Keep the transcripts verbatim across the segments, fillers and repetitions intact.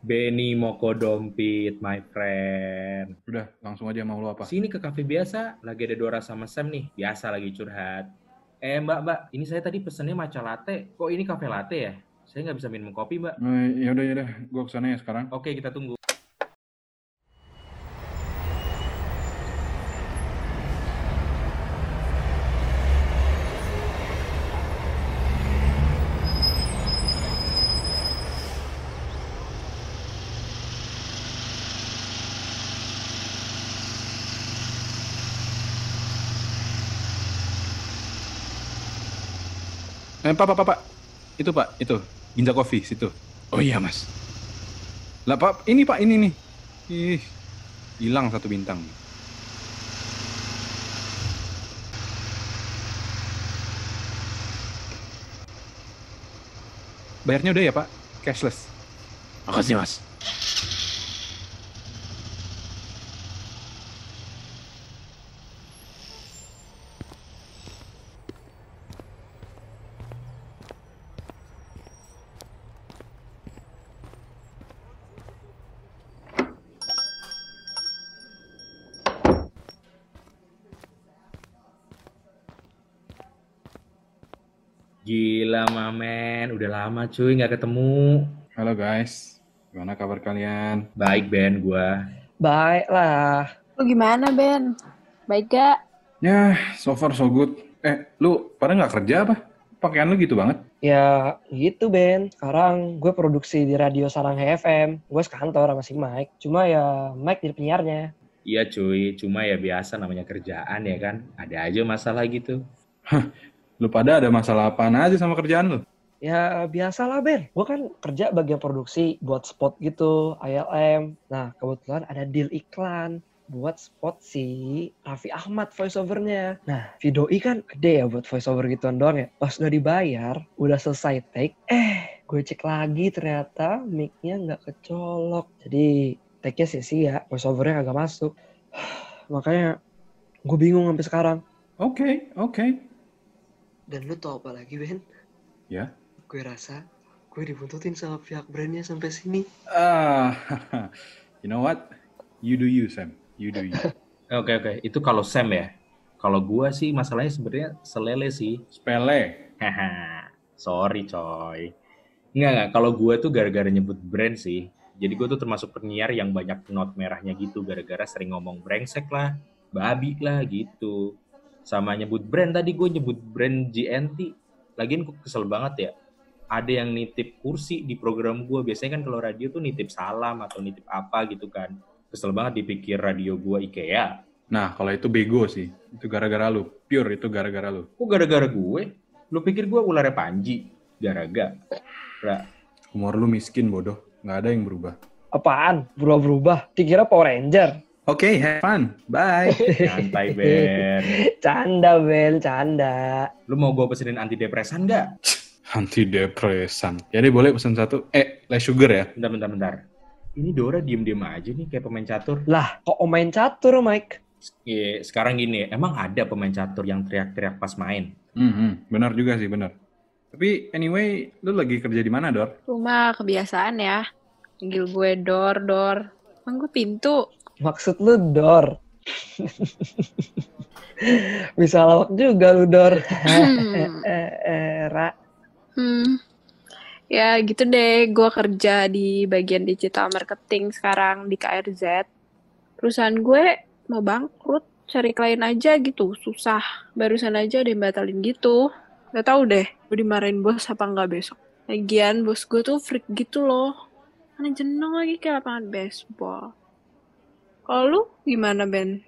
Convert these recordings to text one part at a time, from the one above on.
Benny Moko Dompit, my friend. Udah, langsung aja mau lo apa? Sini ke kafe biasa, lagi ada Dora sama Sam nih. Biasa lagi curhat. Eh mbak, mbak, ini saya tadi pesennya matcha latte. Kok ini kafe latte ya? Saya nggak bisa minum kopi mbak. Eh, ya udah ya udah, gue kesana ya sekarang. Oke, kita tunggu. Eh, pak, pak, pak, pak. Itu pak, itu. Ginza Coffee, situ. Oh iya mas. Lah pak, ini pak, ini nih. Ih, hilang satu bintang. Bayarnya udah ya pak, cashless. Makasih mas. Gila mamen, udah lama cuy nggak ketemu. Halo guys, gimana kabar kalian? Baik Ben, gua. Baik lah. Lu gimana, Ben? Baik gak? Ya, so far so good. Eh, lu pada nggak kerja apa? Pakaian lu gitu banget. Ya gitu Ben. Sekarang gue produksi di radio Sarang H F M. Gue sekantor sama si Mike. Cuma ya Mike jadi penyiarnya. Iya cuy, cuma ya biasa namanya kerjaan ya kan. Ada aja masalah gitu. Lu pada ada masalah apaan aja sama kerjaan lu? Ya biasalah Ben. Gue kan kerja bagian produksi buat spot gitu, I L M. Nah kebetulan ada deal iklan buat spot si Raffi Ahmad voiceovernya. Nah Vidoi kan gede ya buat voiceover gituan doang ya. Pas udah dibayar, udah selesai take, eh gue cek lagi ternyata mic-nya nggak kecolok. Jadi take-nya sia-sia, voiceovernya kagak masuk. Makanya gue bingung sampai sekarang. Oke, okay, oke. Okay. Dan lu tau apa lagi Ben? Ya? Gue rasa gue dibuntutin sama pihak brandnya sampai sini. Ah, you know what? You do you, Sam. You do you. Oke oke, itu kalau Sam ya. Kalau gua sih masalahnya sebenarnya selele sih. Sepele. Haha, sorry coy. Enggak enggak, kalau gua tuh gara-gara nyebut brand sih. Jadi gua tuh termasuk penyiar yang banyak not merahnya gitu gara-gara sering ngomong brengsek lah, babi lah gitu. Sama nyebut brand tadi gue nyebut brand G N T. Lagian gue kesel banget ya. Ada yang nitip kursi di program gue. Biasanya kan kalau radio tuh nitip salam atau nitip apa gitu kan. Kesel banget dipikir radio gue IKEA. Nah, kalau itu bego sih. Itu gara-gara lu. Pure itu gara-gara lu. Kok gara-gara gue? Lu pikir gue ularnya Panji? Gara-gara. Humor lu miskin, bodoh. Nggak ada yang berubah. Apaan? Berubah-berubah? Dikira Power Ranger? Oke, okay, have fun. Bye. Santai, Ben. Canda, Ben. Canda. Lu mau gue pesenin antidepresan nggak? Antidepresan. Jadi boleh pesan satu. Eh, less sugar ya? Bentar, bentar, bentar. Ini Dora diem-diem aja nih kayak pemain catur. Lah, kok main catur, Mike? Iya, sekarang gini, emang ada pemain catur yang teriak-teriak pas main? Hmm, benar juga sih, benar. Tapi anyway, lu lagi kerja di mana, Dor? Rumah kebiasaan ya. Panggil gue Dor, Dor. Emang gue pintu. Maksud lu Dor? Bisa lawak juga lu Dor. Era. Hmm. Ya gitu deh, gue kerja di bagian digital marketing sekarang di K R Z. Perusahaan gue mau bangkrut, cari klien aja gitu, susah. Barusan aja ada yang batalin gitu. Gak tau deh, gue dimarahin bos apa nggak besok. Lagian bos gue tuh freak gitu loh. Karena jenong lagi kayak lapangan baseball. Kalau lu gimana, Ben?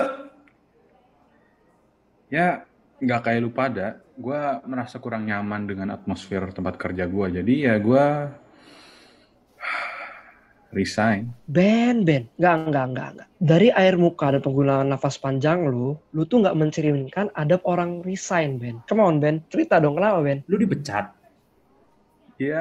Ya, nggak kayak lu pada. Gue merasa kurang nyaman dengan atmosfer tempat kerja gue. Jadi ya gue resign. Ben, Ben. Nggak, nggak, nggak, nggak. Dari air muka dan penggunaan nafas panjang lu, lu tuh nggak mencerminkan adab orang resign, Ben. Come on, Ben. Cerita dong, kenapa, Ben? Lu dipecat? Ya...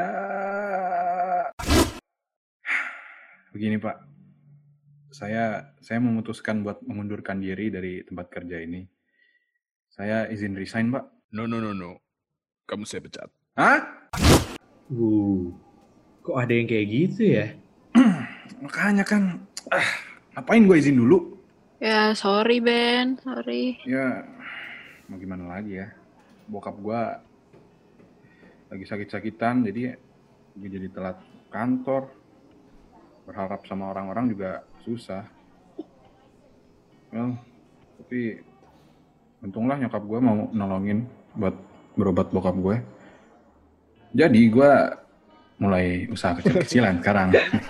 Begini, Pak. Saya saya memutuskan buat mengundurkan diri dari tempat kerja ini. Saya izin resign, Pak. No, no, no, no. Kamu saya pecat. Hah? Uh, kok ada yang kayak gitu ya? Makanya kan, ah, ngapain gue izin dulu? Ya, sorry Ben, sorry. Ya, mau gimana lagi ya. Bokap gue lagi sakit-sakitan, jadi gue jadi telat kantor. Berharap sama orang-orang juga susah. Well, tapi untunglah nyokap gue mau nolongin buat berobat bokap gue. Jadi gue mulai usaha kecil-kecilan sekarang.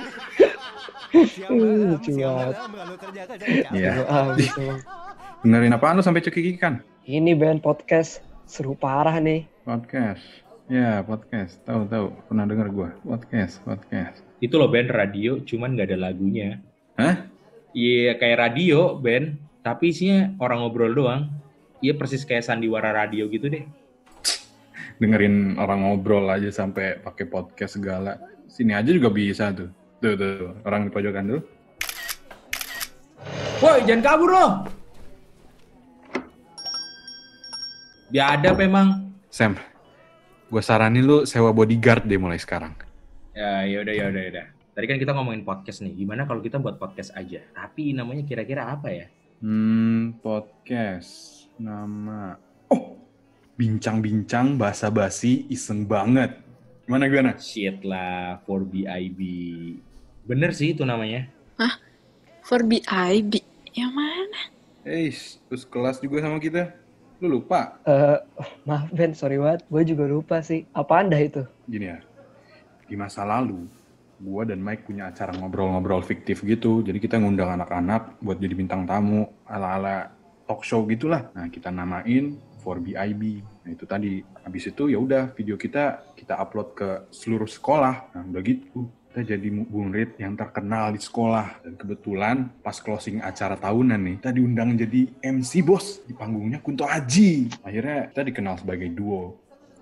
Uh, lucu banget. Iya. Seru abis emang. Dengerin apaan lu sampai cekikikan? Ini Ben podcast seru parah nih. Podcast. Ya, podcast. Tahu-tahu. Pernah denger gue. Podcast, podcast. Itu loh Ben, radio cuman nggak ada lagunya. Hah? Iya kayak radio Ben, tapi isinya orang ngobrol doang. Iya persis kayak sandiwara radio gitu deh. Dengerin orang ngobrol aja sampai pakai podcast segala. Sini aja juga bisa tuh. Tuh, tuh, tuh. Orang di pojokan tuh. Woi, jangan kabur loh. Biadab memang. Sam, gue saranin lu sewa bodyguard deh mulai sekarang. Ya, yaudah, yaudah, yaudah. Tadi kan kita ngomongin podcast nih. Gimana kalau kita buat podcast aja? Tapi namanya kira-kira apa ya? Hmm, podcast. Nama... Oh, bincang-bincang basa-basi iseng banget. Gimana, gimana? Shit lah, for B I B. Bener sih itu namanya. Hah? For B I B? Yang mana? Eh, terus kelas juga sama kita. Lu lupa? Eh, maaf Ben, sorry banget. Gue juga lupa sih. Apaan dah itu? Gini ya, di masa lalu, gua dan Mike punya acara ngobrol-ngobrol fiktif gitu. Jadi kita ngundang anak-anak buat jadi bintang tamu ala-ala talk show gitulah. Nah, kita namain for B I B. Nah, itu tadi. Habis itu ya udah video kita kita upload ke seluruh sekolah. Nah, udah gitu. Kita jadi murid yang terkenal di sekolah. Dan kebetulan pas closing acara tahunan nih, kita diundang jadi M C bos. Di panggungnya Kunto Aji. Akhirnya kita dikenal sebagai duo.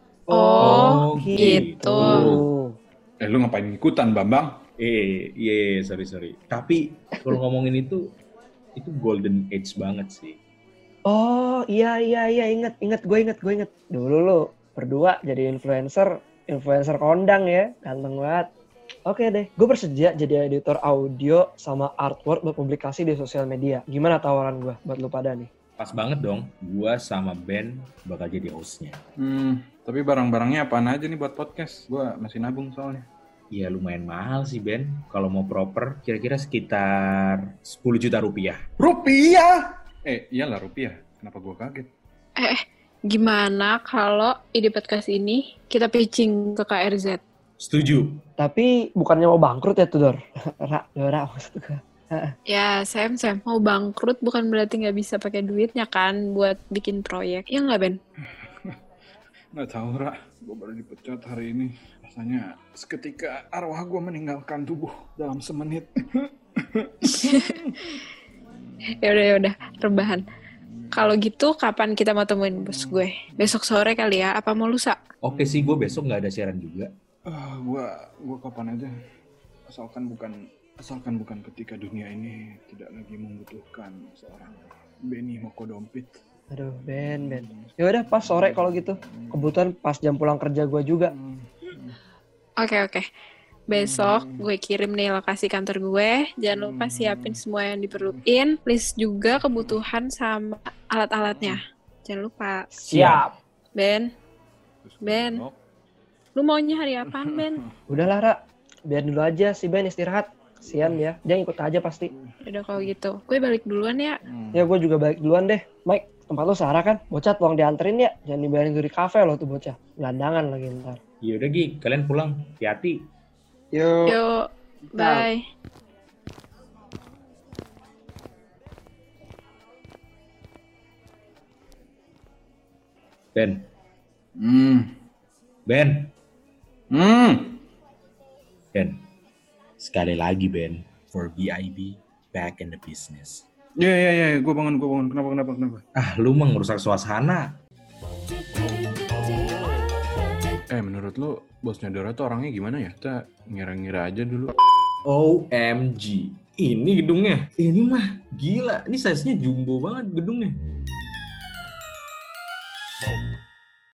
Oh, Oh, gitu. Eh, lu ngapain ikutan, Bambang? Eh, iya, yeah, sorry, sorry. Tapi kalau ngomongin itu, itu golden age banget sih. Oh iya iya iya inget inget gue inget gue inget. Dulu lu berdua jadi influencer influencer kondang ya, ganteng banget. Oke deh, gue bersedia jadi editor audio sama artwork buat publikasi di sosial media. Gimana tawaran gue buat lu pada nih? Pas banget dong, gua sama Ben bakal jadi hostnya. Hmm, tapi barang-barangnya apaan aja nih buat podcast? Gua masih nabung soalnya. Ya lumayan mahal sih Ben, kalau mau proper kira-kira sekitar sepuluh juta rupiah. Rupiah? Eh, iyalah rupiah. Kenapa gua kaget? Eh, gimana kalau ide podcast ini kita pitching ke K R Z? Setuju. Tapi bukannya mau bangkrut ya tuh Dor? Ra, Dora maksud gue. Ya, Sam, Sam, mau bangkrut bukan berarti nggak bisa pakai duitnya kan buat bikin proyek. Ya nggak, Ben? Nggak tahu, Ra. Gua baru dipecat hari ini. Rasanya seketika arwah gua meninggalkan tubuh dalam semenit. Ya udah, ya udah, rebahan. Kalau gitu, kapan kita mau temuin bos gue? Besok sore kali ya? Apa mau lusa? Oke sih, gue besok nggak ada siaran juga. Ah, gua gua kapan aja. Asalkan bukan asalkan bukan ketika dunia ini tidak lagi membutuhkan seorang Benny Mokodompit. Aduh Ben Ben. Ya udah pas sore kalau gitu. Kebetulan pas jam pulang kerja gue juga. Oke, oke. Besok gue kirim nih lokasi kantor gue. Jangan lupa siapin semua yang diperluin. List juga kebutuhan sama alat-alatnya. Jangan lupa. Siap. Ben, Ben. Lu maunya hari apaan, Ben? Udahlah Ra. Biar dulu aja si Ben istirahat. Kasian dia. Dia ikut aja pasti. Udah kalau gitu. Gue balik duluan ya. Ya gue juga balik duluan deh. Mike, tempat lu Sarah kan? Bocah tolong dianterin ya. Jangan dibayarin dari kafe lo tuh bocah. Gelandangan lagi ntar. Ya udah Gi, kalian pulang. Hati-hati. Yuk. Yuk, bye. Ben. Hmm. Ben. Hmm. Ben. Sekali lagi Ben. For B I B, back in the business. Ya ya ya, gue bangun gue bangun. Kenapa kenapa kenapa? Ah, lu mah ngerusak suasana. Eh, menurut lu bosnya Dora tuh orangnya gimana ya? Kita ngira-ngira aja dulu. O M G. Ini gedungnya. Ini mah gila. Ini size-nya jumbo banget gedungnya.